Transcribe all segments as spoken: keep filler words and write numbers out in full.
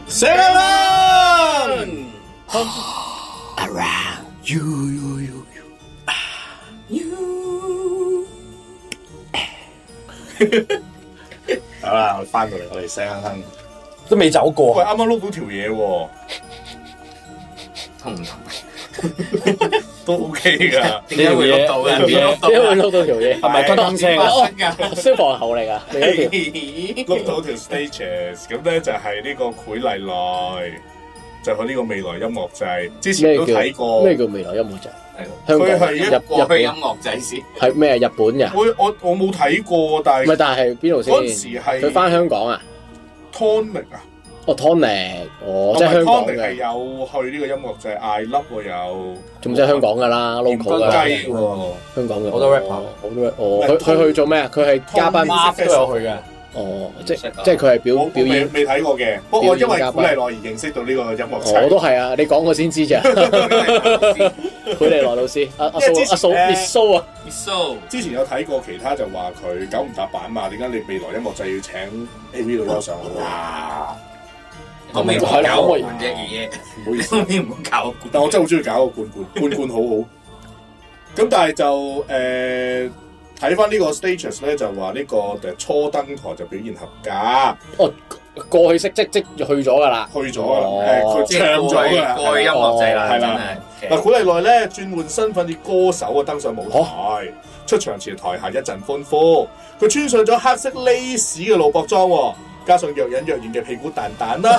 Seven around you you you you。好啦，我翻到嚟，我哋聲哼都未走過。 喂，啱啱碌到條嘢喎， 痛唔痛？ 都 OK 噶。 點解會碌到嘅？ 點解會碌到條嘢？ 係咪跟燈聲啊？ 消防口嚟噶， 碌到條 stages， 咁咧就係呢個許麗來，就佢呢個未來音樂祭，之前都睇過。 咩叫未來音樂祭？ 香港係一過去音樂祭先。 係咩？日本嘅？ 我我我冇睇過，但係唔係，但係邊度先？ 嗰陣時係佢翻香港啊 ？Tonic 啊？ 哦 Tonic，哦即係香港嘅。 係有去呢個音樂祭 ，I Love 喎有。 仲即係香港㗎啦 ，local 㗎啦。香港嘅好多 rapper， 好多哦。佢佢去做咩啊？佢係嘉賓都有去嘅。 哦，即即係佢係表表演， 未睇過嘅。不過我因為許麗來而認識到呢個音樂祭。 我都係啊，你講我先知咋。許麗來老師，阿阿蘇阿蘇 Miss 蘇啊 ，Miss 蘇。 之前有睇過其他就話佢九唔搭板嘛？點解你未來音樂祭要請 A V 女優上去啊？ 我未搞過冠啫，爺爺。 唔好意思， 你唔好搞冠。 但我真係好中意搞個冠冠，冠冠好好。咁但係就誒。睇翻呢個 status 咧，就話呢個誒初登台就表現合格。 哦，過去式即即去咗㗎啦， 去咗㗎啦。誒，佢唱咗㗎， 過去音樂祭啦， 係啦。嗱，許麗來咧轉換身份以歌手啊登上舞台，出場前台下一陣歡呼。佢穿上咗黑色 lace 嘅露膊裝，加上若隱若現嘅屁股蛋蛋啦。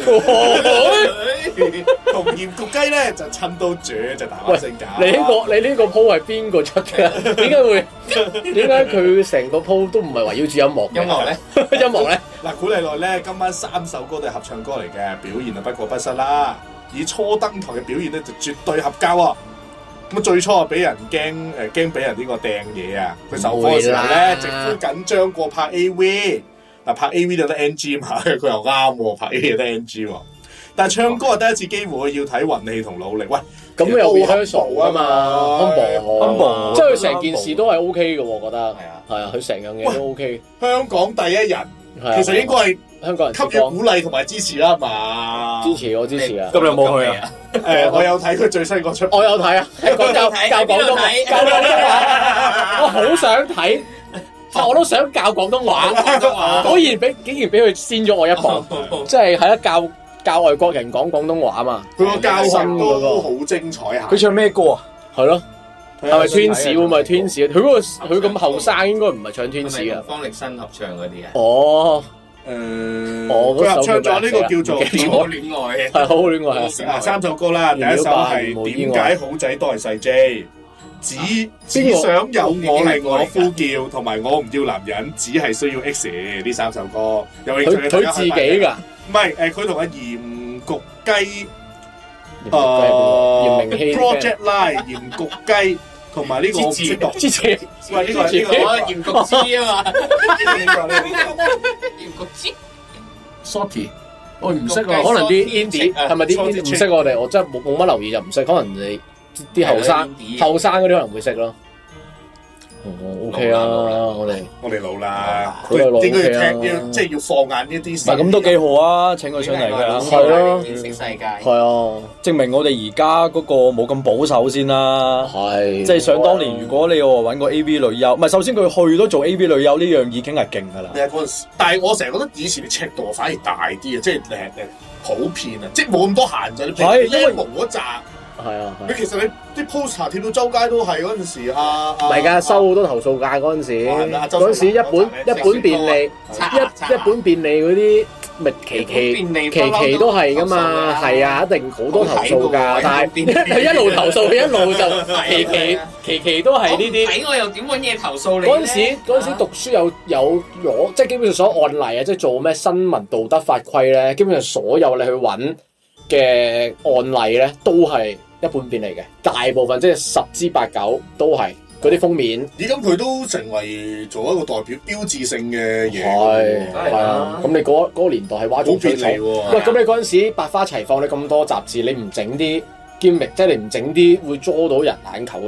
同鹽焗雞咧就襯到絕，就大話聲假。 你呢個你呢個 po 係邊個出嘅？點解會？點解佢成個 po 都唔係圍繞住音樂？ 音樂咧？ 音樂咧？ 嗱，許麗來咧今晚三首歌都係合唱歌嚟嘅，表現啊不過不失啦。以初登台嘅表現咧就絕對合格喎。咁最初啊俾人驚誒驚俾人呢個掟嘢啊！佢授課嘅時候咧直呼緊張過拍 A V。嗱，拍 A V 就得 N G 嘛，佢又啱喎，拍 A V 就得 N G 喎。但係唱歌係第一次機會，要睇運氣同努力。喂， 咁又 rehearsal 啊嘛 ，humble，humble， 即係佢成件事都係 O K 嘅，我覺得。係啊，係啊，佢成樣嘢都 O K。 香港第一人，其實應該係香港人給予鼓勵同埋支持啦，係嘛？ 支持我支持啊！ 咁你有冇去啊？ 誒，我有睇佢最新嗰出， 我有睇啊，係講教教廣東話，教廣東話，我好想睇。我都想教廣東話，果然俾竟然俾佢先咗我一步，即係係啦教教外國人講廣東話嘛。 佢個教學都好精彩啊！ 佢唱咩歌啊？ 係咯，係咪 Twins 會唔係 Twins？佢嗰個佢咁後生，應該唔係唱 Twins 啊。 方力申合唱嗰啲啊？ 哦， 誒，佢合唱咗呢個叫做《 點好戀愛》， 係好好戀愛啊！三首歌啦，第一首係點解好仔都係細 J。只只想有我令我呼叫，同埋我唔要男人，只係需要 X 呢三首歌。有興趣嘅佢自己㗎， 唔係誒，佢同阿鹽焗雞，誒 Project Line 鹽焗雞，同埋呢個之前之前，喂呢個呢個鹽焗雞啊嘛，鹽焗雞 Sorty， 我唔識啊，可能啲 indie 係咪啲 indie 唔識我哋，我真係冇冇乜留意就唔識，可能你。啲後生後生嗰啲可能會識咯。哦 ，OK 啊，我哋我哋老啦， 佢哋應該要聽，要即係要放眼呢啲。 唔係咁都幾好啊！請佢上嚟嘅， 係咯， 認識世界。 係啊， 證明我哋而家嗰個冇咁保守先啦。 係， 即係想當年，如果你話揾個 A V 女優，唔係首先佢去都做 A V 女優呢樣已經係勁㗎啦。 係嗰陣時，但係我成日覺得以前啲尺度反而大啲啊，即係誒誒普遍啊，即係冇咁多限制。係因為冇嗰紮。 係啊！ 你其實你啲 poster 貼到周街都係嗰陣時啊， 唔係㗎，收好多投訴㗎嗰陣時。嗰陣時一本一本便利，一一本便利嗰啲咪期期期期都係㗎嘛，係啊，一定好多投訴㗎。但係佢一路投訴，佢一路就期期期期都係呢啲。 睇我又點揾嘢投訴你咧？ 嗰陣時嗰陣時讀書有有攞，即係基本上所有案例啊，即係做咩新聞道德法規咧，基本上所有你去揾嘅案例咧，都係一本便利嘅，大部分即係十之八九都係嗰啲封面。 咦，咁佢都成為做一個代表標誌性嘅嘢。 係係啊，咁你嗰嗰個年代係嘩眾取寵。喂，咁你嗰陣時百花齊放，你咁多雜誌，你唔整啲兼明，即係你唔整啲會捉到人眼球嘅，你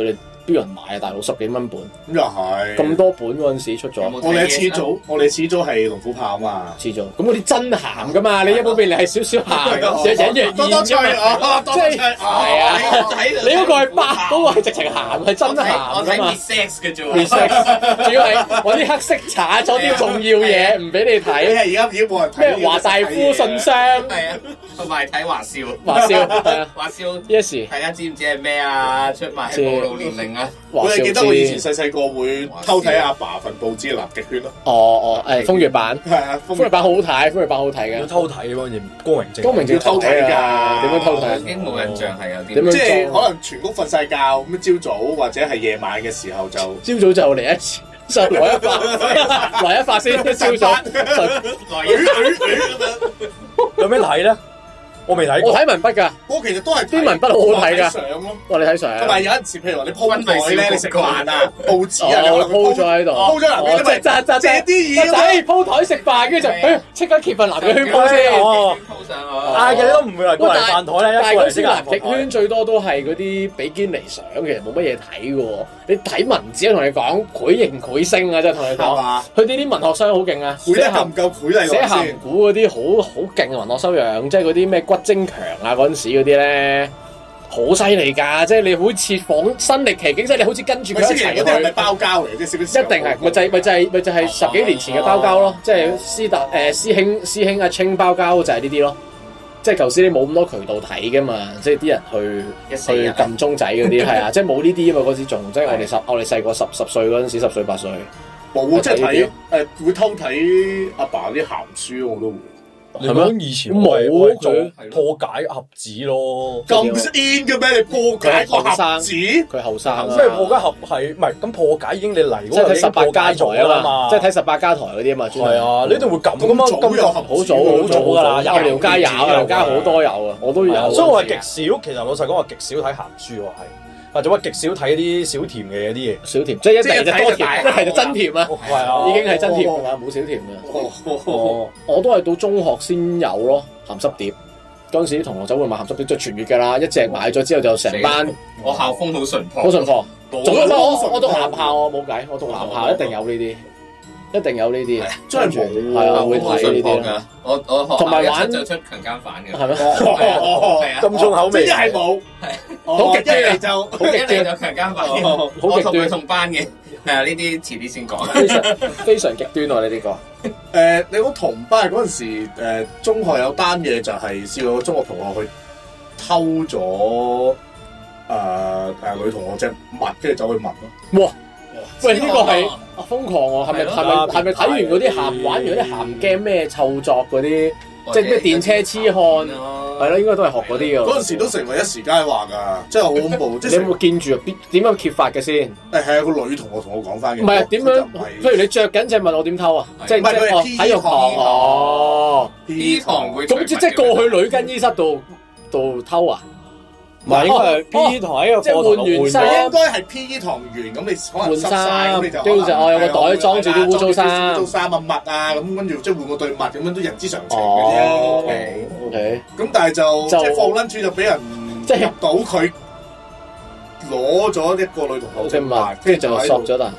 邊有人買啊？大佬十幾蚊本， 咁又係咁多本嗰陣時出咗。 我哋始祖，我哋始祖係龍虎豹啊嘛， 始祖。咁嗰啲真鹹噶嘛？你一本便利係少少鹹，隱隱約約多多脆啊，即係係啊。你嗰個係白，嗰個係直情鹹，係真鹹噶嘛 ？resex 嘅啫 ，resex 主要係揾啲黑色搽咗啲重要嘢，唔俾你睇。 而家已經冇人睇咩華大夫信箱？ 係啊，同埋睇華少， 華少係啊， 華少 yes。 大家知唔知係咩啊？出賣係暴露年齡啊！ 我哋記得我以前細細個會偷睇阿爸份報紙《南極圈》咯。 哦哦，誒風月版係啊， 風月版好好睇，風月版好睇嘅。 偷睇嗰陣光榮正， 光榮正偷睇㗎，點樣偷睇？ 已經冇印象係有啲點樣？ 即係可能全屋瞓晒覺咁樣，朝早或者係夜晚嘅時候就朝早就嚟一次，就來一發，來一發先。朝早來一有咩睇咧？我未睇過， 我睇文筆㗎。 我其實都係啲文筆好好睇㗎。 相咯， 我哋睇相。 同埋有陣時，譬如話你鋪台咧，你食飯啊，報紙啊， 我鋪咗喺度， 鋪咗南極圈， 即係借啲嘢。 仔鋪台食飯，跟住就誒即刻揭份南極圈鋪先。 哦， 鋪上啊，嘅都唔會嚟過嚟飯台咧， 但係嗰時一個南極圈最多都係嗰啲比堅尼相，其實冇乜嘢睇嘅喎。你睇文字，同你講繪形繪聲啊，即係同你講。佢哋啲文學商好勁啊， 繪得夠唔夠繪麗寫鹹古嗰啲好好勁嘅文學修養，即係嗰啲咩骨精強啊嗰陣時嗰啲咧，好犀利㗎！即係你好似仿身歷其境，即係你好似跟住佢一齊去。嗰啲係咪包膠嚟？即係一定係，咪就係咪就係咪就係十幾年前嘅包膠咯？即係師達誒師兄師兄阿清包膠就係呢啲咯。即係舊時你冇咁多渠道睇㗎嘛，即係啲人去去撳鐘仔嗰啲係啊，即係冇呢啲啊嘛嗰時仲即係我哋十我哋細個十十歲嗰陣時，十歲八歲冇即係睇誒會偷睇阿爸啲鹹書我都會。 你講以前冇做破解盒子咯， 咁 in 嘅咩？你破解個盒子？ 佢後生啊！ 即係破解盒係唔係咁破解已經你嚟嗰個即係睇十八家台啊嘛， 即係睇十八家台嗰啲啊嘛。係啊，你一定會咁噶嘛？咁有盒好早好早㗎啦，有條街有，條街好多有啊，我都有。 所以我係極少，其實老實講，我極少睇鹹書喎，係。或者話極少睇啲小甜嘅啲嘢， 小甜即係一係就多甜，一係就真甜啊！ 係啊， 已經係真甜㗎啦，冇小甜嘅。我都係到中學先有咯鹹濕碟，嗰陣時啲同學仔會買鹹濕碟，就全月㗎啦，一隻買咗之後就成班。 我校風好淳樸， 好淳樸。我我讀男校我冇計，我讀男校一定有呢啲。一定有呢啲， 真係冇， 係啊，會睇呢啲咯。 我我學同埋玩就出強姦犯嘅， 係咩？ 係啊， 咁重口味， 真係冇， 好極端就好極端就強姦犯，好極端同班嘅，係啊，呢啲遲啲先講。 非常非常極端喎！你呢個誒，你講同班嗰陣時，誒中學有單嘢就係試過中學同學去偷咗誒誒女同學隻襪，跟住走去聞咯。哇！ 喂，呢個係瘋狂喎，係咪係咪係咪睇完嗰啲鹹玩完嗰啲鹹 game 咩臭作嗰啲，即係咩電車痴漢，係咯，應該都係學嗰啲㗎。嗰陣時都成為一時佳話㗎，真係好恐怖。 你有冇見住啊？點樣揭發嘅先？ 誒係啊，個女同學同我講翻嘅。 唔係點樣？譬如你着緊隻襪，我點偷啊？即係即係體育堂哦 ，P 堂會咁即即係過去女更衣室度度偷啊？ 唔係，應該係 P.E. 堂喺個課堂換衫， 應該係 P.E. 堂完咁，你可能濕曬咁，你就跟住就哦有個袋裝住啲污糟衫、 污糟衫啊襪啊咁，跟住即係換個對襪咁樣都人之常情嘅啫。 O K O K。咁但係就即係放 lunch 就俾人即係入到佢攞咗一個女同學隻襪， 跟住就索咗啦。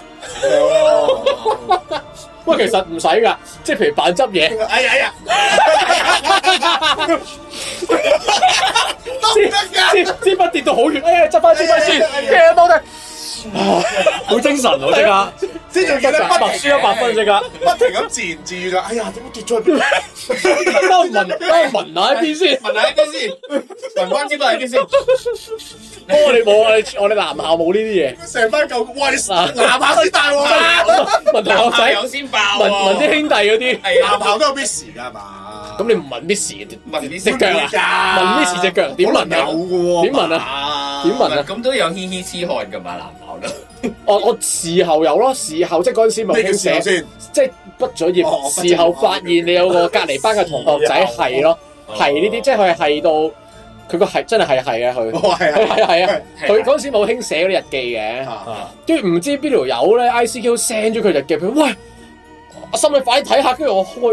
喂，其實唔使噶，即係譬如扮執嘢。 哎呀哎呀！ 支支支筆跌到好遠，哎呀，執翻支筆先，嘅多得，好精神喎，即刻， 即係仲記得白輸一百分即刻， 不停咁自言自語就，哎呀，點解跌咗去邊？ 等我聞，等我聞下喺邊先， 聞下喺邊先，聞翻支筆喺邊先。 我哋冇，我哋我哋男校冇呢啲嘢， 成班舊喂男校先大鑊， 問同學仔有先爆， 問問啲兄弟嗰啲， 男校都有 miss 㗎係嘛？ 咁你唔問 miss 問 miss 隻腳啊？問 miss 隻腳點問啊？ 有嘅喎， 點問啊？點問啊？ 咁都有嘻嘻痴漢㗎嘛？男校都。 我我事後有咯，事後即係嗰陣時咪興寫先，即係畢咗業，事後發現你有個隔離班嘅同學仔係咯，係呢啲，即係佢係係到佢個係真係係係啊佢，係係係啊，佢嗰陣時冇興寫嗰啲日記嘅，跟住唔知邊條友咧 I C Q send 咗佢日記，佢喂，阿心你快啲睇下，跟住我開。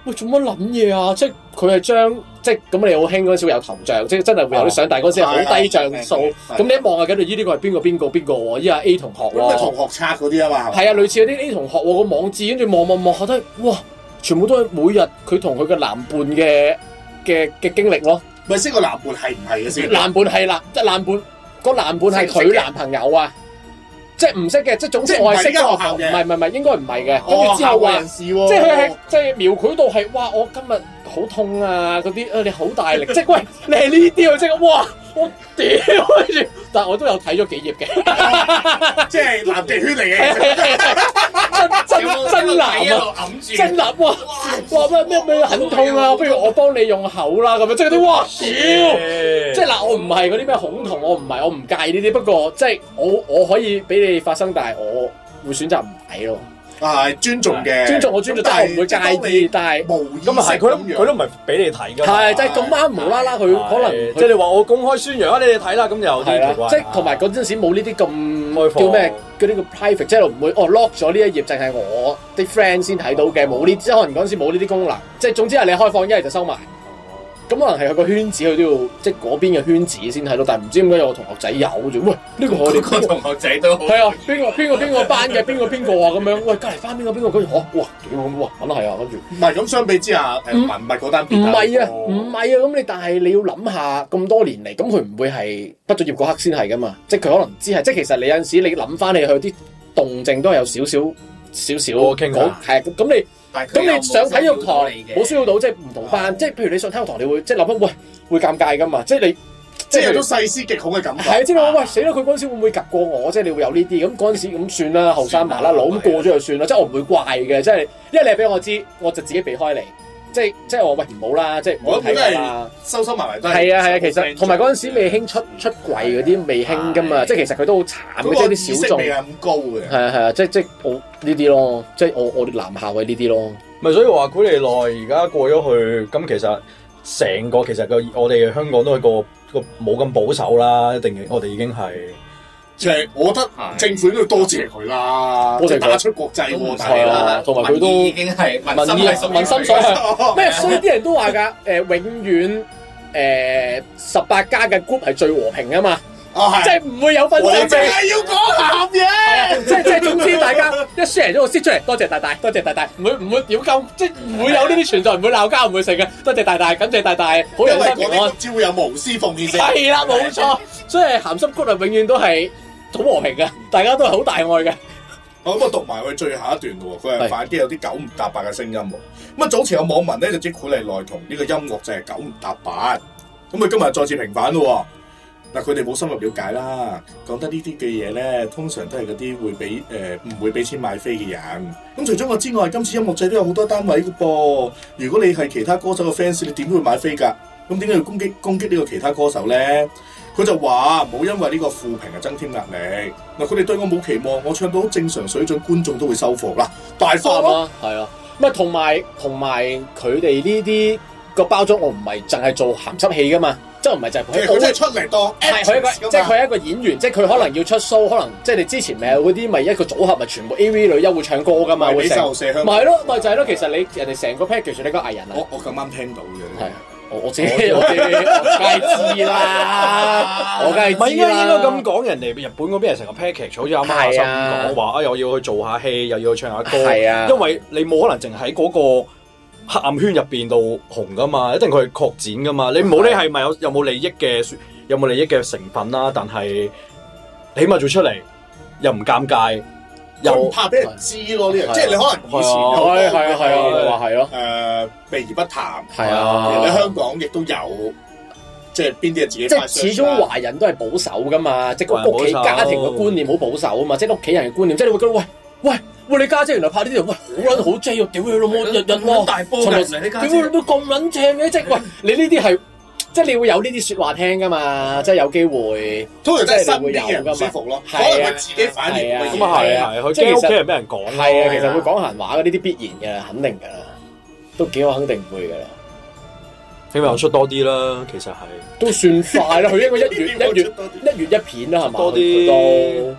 喂做乜撚嘢啊？即係佢係將即係咁你好興嗰陣時會有頭像，即係真係會有啲相，但係嗰陣時係好低像素。咁你一望啊，跟住依呢個係邊個邊個邊個喎？依家 A 同學喎。 咩同學冊嗰啲啊嘛？ 係啊，類似嗰啲 A 同學喎個網誌，跟住望望望下都係哇，全部都係每日佢同佢嘅男伴嘅嘅嘅經歷咯。 咪先個男伴係唔係嘅先？ 男伴係啦，即係男伴個男伴係佢男朋友啊。即係唔識嘅，即係總之我係識嘅，唔係唔係唔係，應該唔係嘅。跟住之後話，即係佢係即係描繪到係，哇！我今日好痛啊，嗰啲啊你好大力，即係喂你係呢啲啊，即係哇！我屌跟住，但係我都有睇咗幾頁嘅， 即係南極圈嚟嘅， 真真真男啊，真男哇哇咩咩咩很痛啊，不如我幫你用口啦咁樣，即係啲哇屌！即係嗱，我唔係嗰啲咩恐同，我唔係我唔介意呢啲，不過即係我我可以俾你發生，但係我會選擇唔睇咯。 啊，尊重嘅， 尊重我尊重，但係我唔會介意。但係咁啊係，佢都佢都唔係俾你睇㗎。 係，即係咁啱無啦啦，佢可能即係你話我公開宣揚啊，你哋睇啦，咁就有啲奇怪。 即係同埋嗰陣時冇呢啲咁叫咩嗰啲叫 private，即係唔會哦 lock 咗呢一頁，淨係我啲 friend 先睇到嘅，冇呢，即係可能嗰陣時冇呢啲功能。即係總之係你開放，一係就收埋。咁可能係佢個圈子，佢都要即係嗰邊嘅圈子先睇到，但係唔知點解有個同學仔有啫。喂，呢個我哋個同學仔都係啊，邊個邊個邊個班嘅，邊個邊個啊咁樣。喂，隔離翻邊個邊個跟住，哇哇屌咁哇，梗係啊，跟住。 唔係咁相比之下，誒文物嗰單唔係啊，唔係啊，咁你但係你要諗下咁多年嚟，咁佢唔會係畢咗業嗰刻先係噶嘛？即係佢可能知係，即係其實你有陣時你諗翻你去啲動靜都係有少少少少傾講係咁你。咁你上體育堂冇需要到，即係唔同班，即係譬如你上體育堂，你會即係諗翻，喂，會尷尬噶嘛？即係你即係有種細思極恐嘅感覺。 係啊，即係喂死啦！佢嗰陣時會唔會及過我？即係你會有呢啲咁嗰陣時咁算啦，後生麻甩佬咁過咗就算啦。即係我唔會怪嘅，即係因為你係俾我知，我就自己避開你。即係即係我喂唔好啦，即係唔好睇啦。 收收埋埋都係。係啊係啊，其實同埋嗰陣時未興出出櫃嗰啲未興噶嘛，即係其實佢都好慘嘅，即係啲小眾。 未係咁高嘅。係啊係啊，即係即係我呢啲咯，即係我我哋男校嘅呢啲咯。 咪所以話古利奈而家過咗去，咁其實成個其實個我哋香港都係個個冇咁保守啦，一定我哋已經係。 即係我覺得政府應該多謝佢啦，即係打出國際喎， 係啦，同埋佢都已經係民心民心所向。咩？所以啲人都話㗎，誒永遠誒十八加嘅 group 係最和平㗎嘛。哦，係，即係唔會有分爭。 淨係要講鹹嘢， 即係即係總之大家一 share 咗個 shit 出嚟，多謝大大，多謝大大，唔會唔會屌鳩，即係唔會有呢啲存在，唔會鬧交，唔會成嘅。多謝大大，感謝大大，好人心平安。 只會有無私奉獻性。 係啦，冇錯。所以鹹濕 group 係永遠都係好和平嘅，大家都係好大愛嘅。 我咁啊讀埋佢最後一段咯，佢係反擊有啲九唔搭八嘅聲音喎。咁啊早前有網民咧就指古利奈同呢個音樂就係九唔搭八，咁佢今日再次平反咯。嗱，佢哋冇深入了解啦，講得呢啲嘅嘢咧，通常都係嗰啲會俾誒唔會俾錢買飛嘅人。咁除咗我之外，今次音樂祭都有好多單位嘅噃。如果你係其他歌手嘅 fans，你點都會買飛㗎。咁點解要攻擊攻擊呢個其他歌手咧？佢就話冇因為呢個負評啊增添壓力。嗱，佢哋對我冇期望，我唱到好正常水準，觀眾都會收貨啦，大方咯。 係啊，咁啊同埋同埋佢哋呢啲個包裝，我唔係淨係做鹹濕戲㗎嘛。即係唔係就係佢， 佢真係出嚟當係佢一個，即係佢係一個演員，即係佢可能要出 show，可能即係你之前咪有嗰啲咪一個組合咪全部 A V 女優會唱歌噶嘛，會成，咪係咯，咪就係咯。其實你人哋成個 package 你個藝人啊， 我我咁啱聽到嘅， 係我我知我知，我梗係知啦，我梗係知啦。唔係應該應該咁講，人哋日本嗰邊係成個 package，好似阿媽阿心咁講話啊，又要去做下戲，又要去唱下歌，係啊，因為你冇可能淨喺嗰個黑暗圈入邊度紅噶嘛，一定佢係擴展噶嘛。你唔好理係咪有有冇利益嘅有冇利益嘅成分啦，但係起碼做出嚟又唔尷尬，又唔怕俾人知咯。呢樣即係你可能以前有係係啊係啊話係咯， 誒避而不談係啊。 你香港亦都有，即係邊啲係自己。 即係始終華人都係保守噶嘛，即係屋企家庭嘅觀念好保守啊嘛，即係屋企人嘅觀念，即係你會覺得喂喂。喂，你家姐原來拍呢啲，喂好撚好 J 喎！屌你老母，日日喎，大波嘅嚟你家姐，屌你都咁撚正嘅，即係喂你呢啲係，即係你會有呢啲説話聽噶嘛，即係有機會， 通常真係身邊嘅人唔舒服咯，可能佢自己反應咁啊係啊，佢驚屋企人俾人講， 係啊，其實會講閒話嗰啲啲必然嘅，肯定㗎啦，都幾我肯定唔會㗎啦， 希望出多啲啦，其實係都算快啦，佢應該一月一月一月一片啦，係嘛？ 多啲。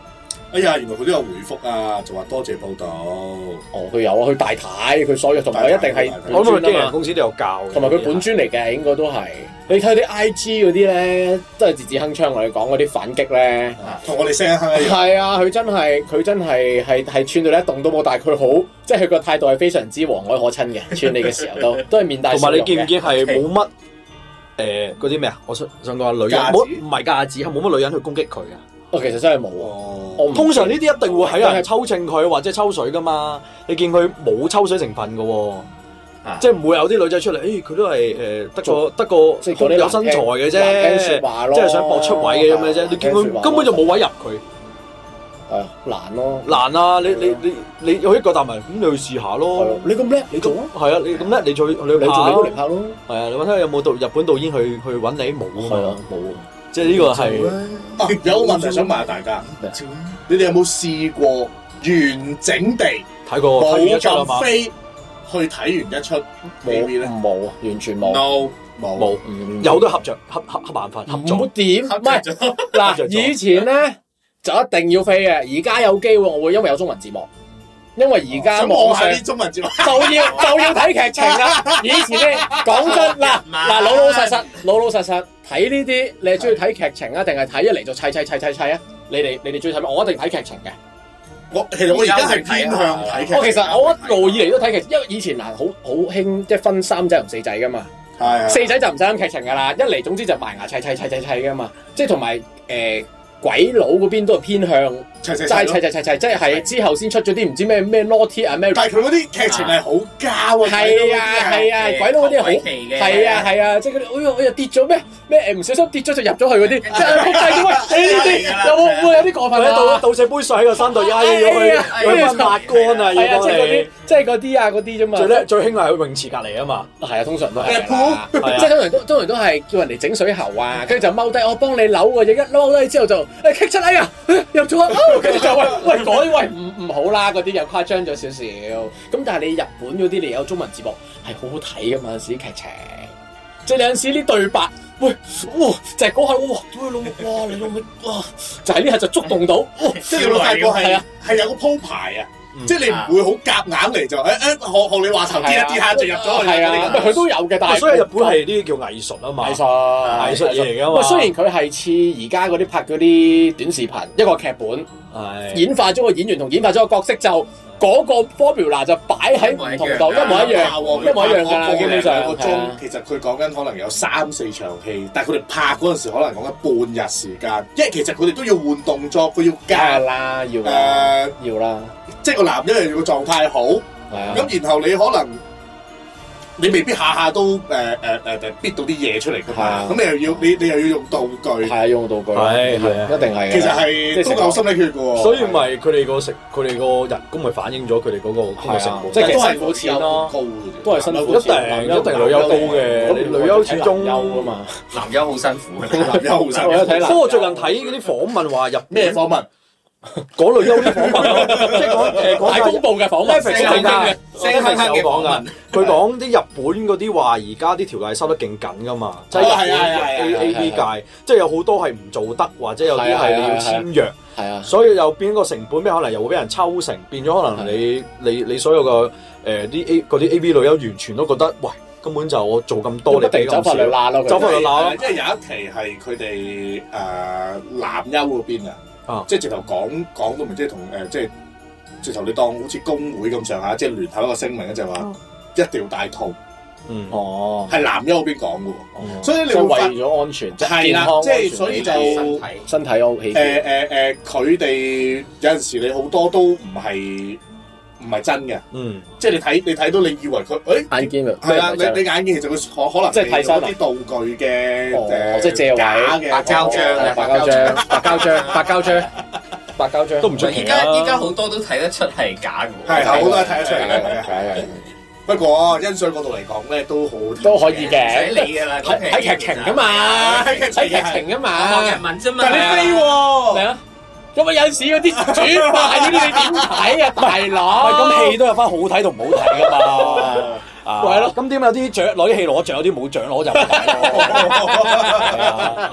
哎呀，原來佢都有回覆啊，就話多謝報道。 哦，佢有啊，佢大太，佢所有同埋一定係我諗佢經紀公司都有教， 同埋佢本專嚟嘅，應該都係。你睇啲 I G 嗰啲咧，都係字字鏗鏘，我哋講嗰啲反擊咧， 同我哋聲一哼一樣。 係啊，佢真係佢真係係係串到你一動都冇，但係佢好，即係佢個態度係非常之和藹可親嘅，串你嘅時候都都係面帶笑容嘅。同埋你見唔見係冇乜誒嗰啲咩啊？我想想講下女人，冇唔係架子，係冇乜女人去攻擊佢嘅。 哦，其實真係冇喎。通常呢啲一定會喺人抽秤佢或者抽水噶嘛。你見佢冇抽水成分嘅喎。即係唔會有啲女仔出嚟，誒佢都係誒得個得個即係有身材嘅啫，即係想搏出位嘅咁嘅啫。你見佢根本就冇位入佢， 係啊難咯， 難啊！你你你你有一個答問，咁你去試下咯。 你咁叻，你做啊？ 係啊，你咁叻，你做你去拍咯。 你都嚟拍咯。 係啊，你揾下有冇導日本導演去去揾你冇啊嘛？ 冇。 即係呢個係有個問題想問下大家，你哋有冇試過完整地睇過冇咁飛？去睇完一出 A V 咧， 冇，完全冇 ，no 冇冇， 有都合着，合合合辦法，合作。 唔點？唔係嗱，以前咧就一定要飛嘅，而家有機會我會因為有中文字幕，因為而家網上啲中文字幕就要就要睇劇情啦。以前咧講真嗱嗱老老實實老老實實睇呢啲，你係中意睇劇情啊，定係睇一嚟就砌砌砌砌砌啊？你哋你哋中意睇咩？我一定睇劇情嘅。 我其實我而家係偏向睇劇。 我其實我一路以嚟都睇劇，因為以前嗱好好興即係分三仔同四仔噶嘛。係。四仔就唔使諗劇情噶啦，一嚟總之就埋牙砌砌砌砌砌噶嘛。即係同埋誒鬼佬嗰邊都係偏向齋砌砌砌砌，即係之後先出咗啲唔知咩咩 Naughty 啊咩。但係佢嗰啲劇情係好膠啊。係啊係啊，鬼佬嗰啲好係啊係啊，即係嗰啲哎呀哎呀跌咗咩咩誒唔小心跌咗就入咗去嗰啲，即係撲街點啊？呢啲有冇會有啲過分啊？倒倒瀉杯水喺個山度壓咗去，去翻抹乾啊！要幫你，即係嗰啲啊嗰啲啫嘛。最叻最興係去泳池隔離啊嘛。係啊，通常都係。即係通常都通常都係叫人哋整水喉啊，跟住就踎低，我幫你扭嘅嘢，一踎低之後就誒棘出嚟啊，入咗，跟住就喂喂改喂唔唔好啦，嗰啲又誇張咗少少。咁但係你日本嗰啲你有中文字幕係好好睇噶嘛？有時啲劇情，即係有陣時啲對白。喂，哇！就係嗰下，哇！屌你老，哇！你老味，哇！就係呢下就觸動到， 即係老大個係係有個鋪排啊，即係你唔會好夾硬嚟就誒誒學學你話頭跌一跌下就入咗去嗰啲咁。佢都有嘅，但係所以日本係呢啲叫藝術啊嘛，藝術藝術嘢嚟㗎嘛。 雖然佢係似而家嗰啲拍嗰啲短視頻，一個劇本，演化咗個演員同演化咗個角色就。嗰個 formula 就擺喺唔同度，一模一樣，一模一樣㗎啦。基本上個鐘， 其實佢講緊可能有三四場戲，但係佢哋拍嗰陣時可能講緊半日時間，因為其實佢哋都要換動作，佢要加啦，要誒要啦， 即係個男一要個狀態好，咁然後你可能。你未必下下都誒誒誒誒逼到啲嘢出嚟㗎嘛，咁你又要你你又要用道具， 係啊用道具， 係係啊， 一定係。 其實係都夠心理血㗎喎。 所以咪佢哋個食佢哋個人工咪反映咗佢哋嗰個工作成本， 即係都係辛苦錢咯，都係辛苦。 一定一定女優高嘅，你女優始終優啊嘛， 男優好辛苦， 男優好辛苦。 不過最近睇嗰啲訪問話入咩訪問？ 嗰類優啲訪問咯，即係講誒講大公報嘅訪問， 聲鏗鏗聲鏗鏗嘅訪問。佢講啲日本嗰啲話，而家啲條例收得勁緊噶嘛，即係日本 A A V 界，即係有好多係唔做得，或者有啲係你要簽約，係啊，所以又變個成本，咩可能又會俾人抽成，變咗可能你你你所有嘅誒啲 A 嗰啲 A V 女優完全都覺得，喂，根本就我做咁多，你俾咁少，走法律罅咯，走法律罅咯。 即係有一期係佢哋誒男優嗰邊啊。啊！即係直頭講講都唔知同誒，即係直頭你當好似工會咁上下，即係聯合一個聲明咧，就係話一定要戴套。嗯，哦，係男優嗰邊講嘅喎，所以你會為咗安全， 係啦，即係所以就身體 O K。 誒誒誒，佢哋有陣時你好多都唔係唔係真嘅。嗯，即係你睇你睇到，你以為佢誒眼鏡係啦，你你眼鏡其實佢可可能即係睇晒啲道具嘅誒， 即係借位嘅白膠漿、 白膠漿、白膠漿、白膠漿、白膠漿都唔出奇。 而家依家好多都睇得出係假嘅喎， 係好多都睇得出嚟嘅。不過欣賞角度嚟講咧，都好都可以嘅， 唔使理㗎啦， 睇睇劇情㗎嘛，睇劇情㗎嘛， 學日文啫嘛。 但係你飛喎， 係啊。咁啊有陣時嗰啲主賣嗰啲你點睇啊，大佬？ 咁戲都有翻好睇同唔好睇噶嘛。啊，係咯。咁點有啲獎攞啲戲攞獎，有啲冇獎攞就唔睇咯。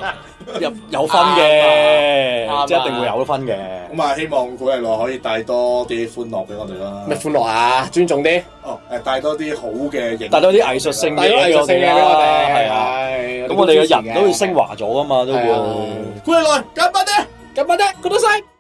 有有分嘅，即係一定會有分嘅。 咁啊，希望古力奈可以帶多啲歡樂俾我哋啦。 咩歡樂啊？尊重啲。哦， 誒，帶多啲好嘅影， 帶多啲藝術性嘅藝術性嘅俾我哋。係啊， 咁我哋嘅人都會升華咗噶嘛，都會。 古力奈，緊巴啲， 緊巴啲，good night。